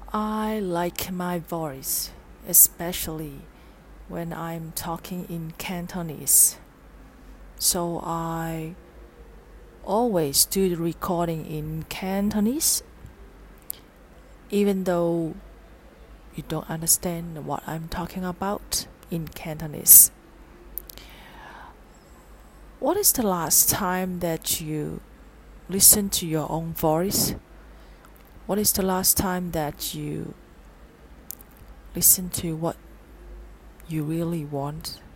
I like my voice, especially when I'm talking in Cantonese. So I always do the recording in Cantonese, even though you don't understand what I'm talking about in Cantonese. What is the last time that you listened to your own voice? What is the last time that you listen to what you really want?